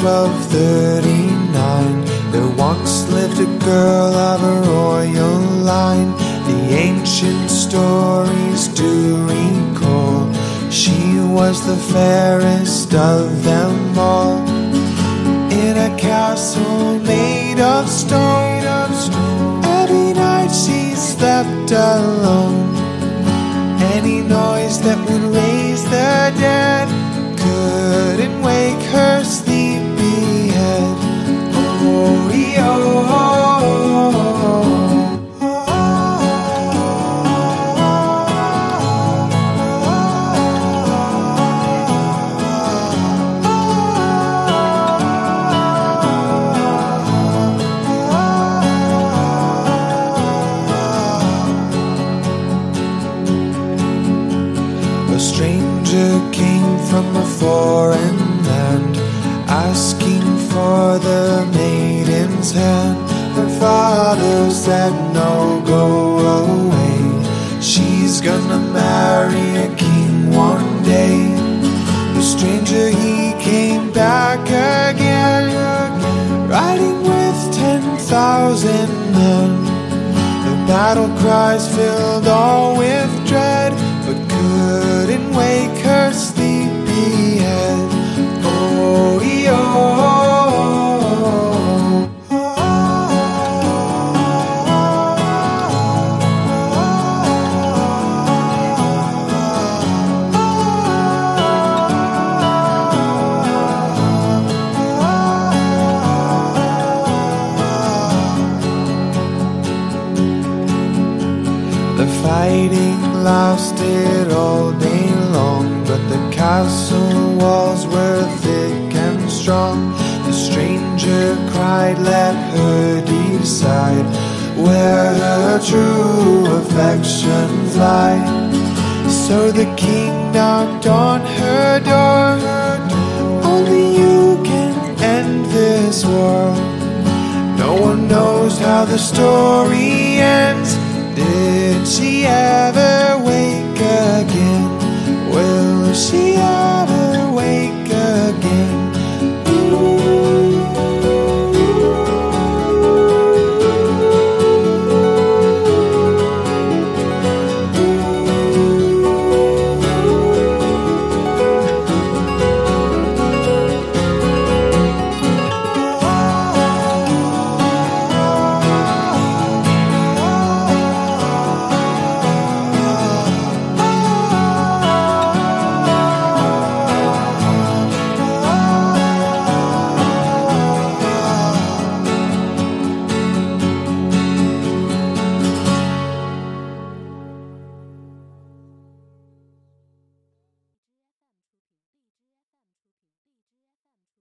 1239, there once lived a girl of a royal line. The ancient stories do recall she was the fairest of them all. In a castle made of stone, every night she slept alone. Any noise that would raise the dead couldn't wake her sleepy head. Oh, a stranger came from a foreign land, asking for the maiden's hand. Her father said, no, go away, she's gonna marry a king one day. The stranger, he came back again, riding with 10,000 men. The battle cries filled all with dread, but couldn't wake her sleepy head. Oh, the fighting lasted all day long, but the castle walls were thick and strong. The stranger cried, let her decide where her true affections lie. So the king knocked on her door. Only you can end this war. No one knows how the story ends. Did she ever